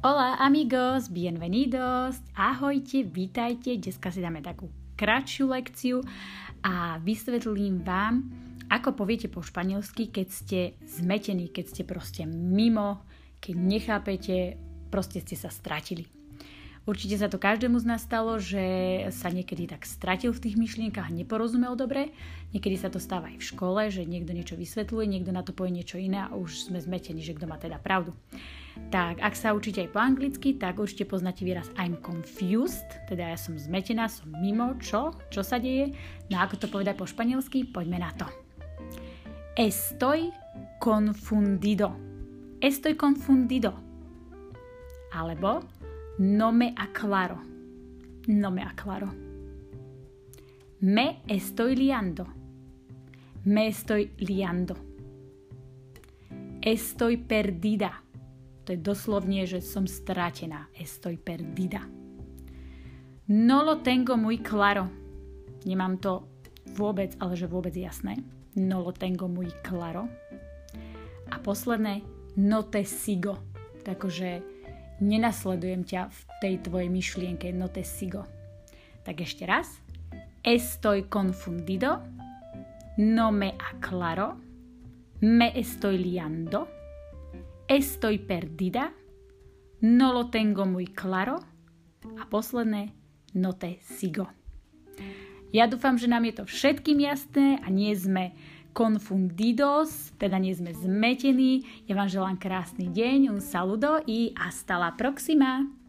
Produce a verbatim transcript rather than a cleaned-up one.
Hola amigos, bienvenidos, ahojte, vítajte. Dneska si dáme takú kratšiu lekciu a vysvetlím vám, ako poviete po španielsky, keď ste zmetení, keď ste proste mimo, keď nechápete, proste ste sa stratili. Určite sa to každému z nás stalo, že sa niekedy tak stratil v tých myšlienkach a neporozumel dobre. Niekedy sa to stáva aj v škole, že niekto niečo vysvetľuje, niekto na to povie niečo iné a už sme zmetení, že kto má teda pravdu. Tak, ak sa učíte aj po anglicky, tak určite poznáte výraz I'm confused, teda ja som zmetená, som mimo, čo? Čo sa deje? No ako to povedať po španielsky? Poďme na to. Estoy confundido. Estoy confundido. Alebo no me aclaro. No me aclaro. Me estoy liando. Me estoy liando. Estoy perdida. To je doslovne, že som stratená. Estoy perdida. No lo tengo muy claro. Nemám to vôbec, ale že vôbec jasné. No lo tengo muy claro. A posledné, no te sigo. Takže nenasledujem ťa v tej tvojej myšlienke, no te sigo. Tak ešte raz. Estoy confundido. No me aclaro. Me estoy liando. Estoy perdida. No lo tengo muy claro. A posledné, no te sigo. Ja dúfam, že nám je to všetkým jasné a nie sme confundidos, teda nie sme zmetení. Ja vám želám krásny deň, un saludo y hasta la próxima.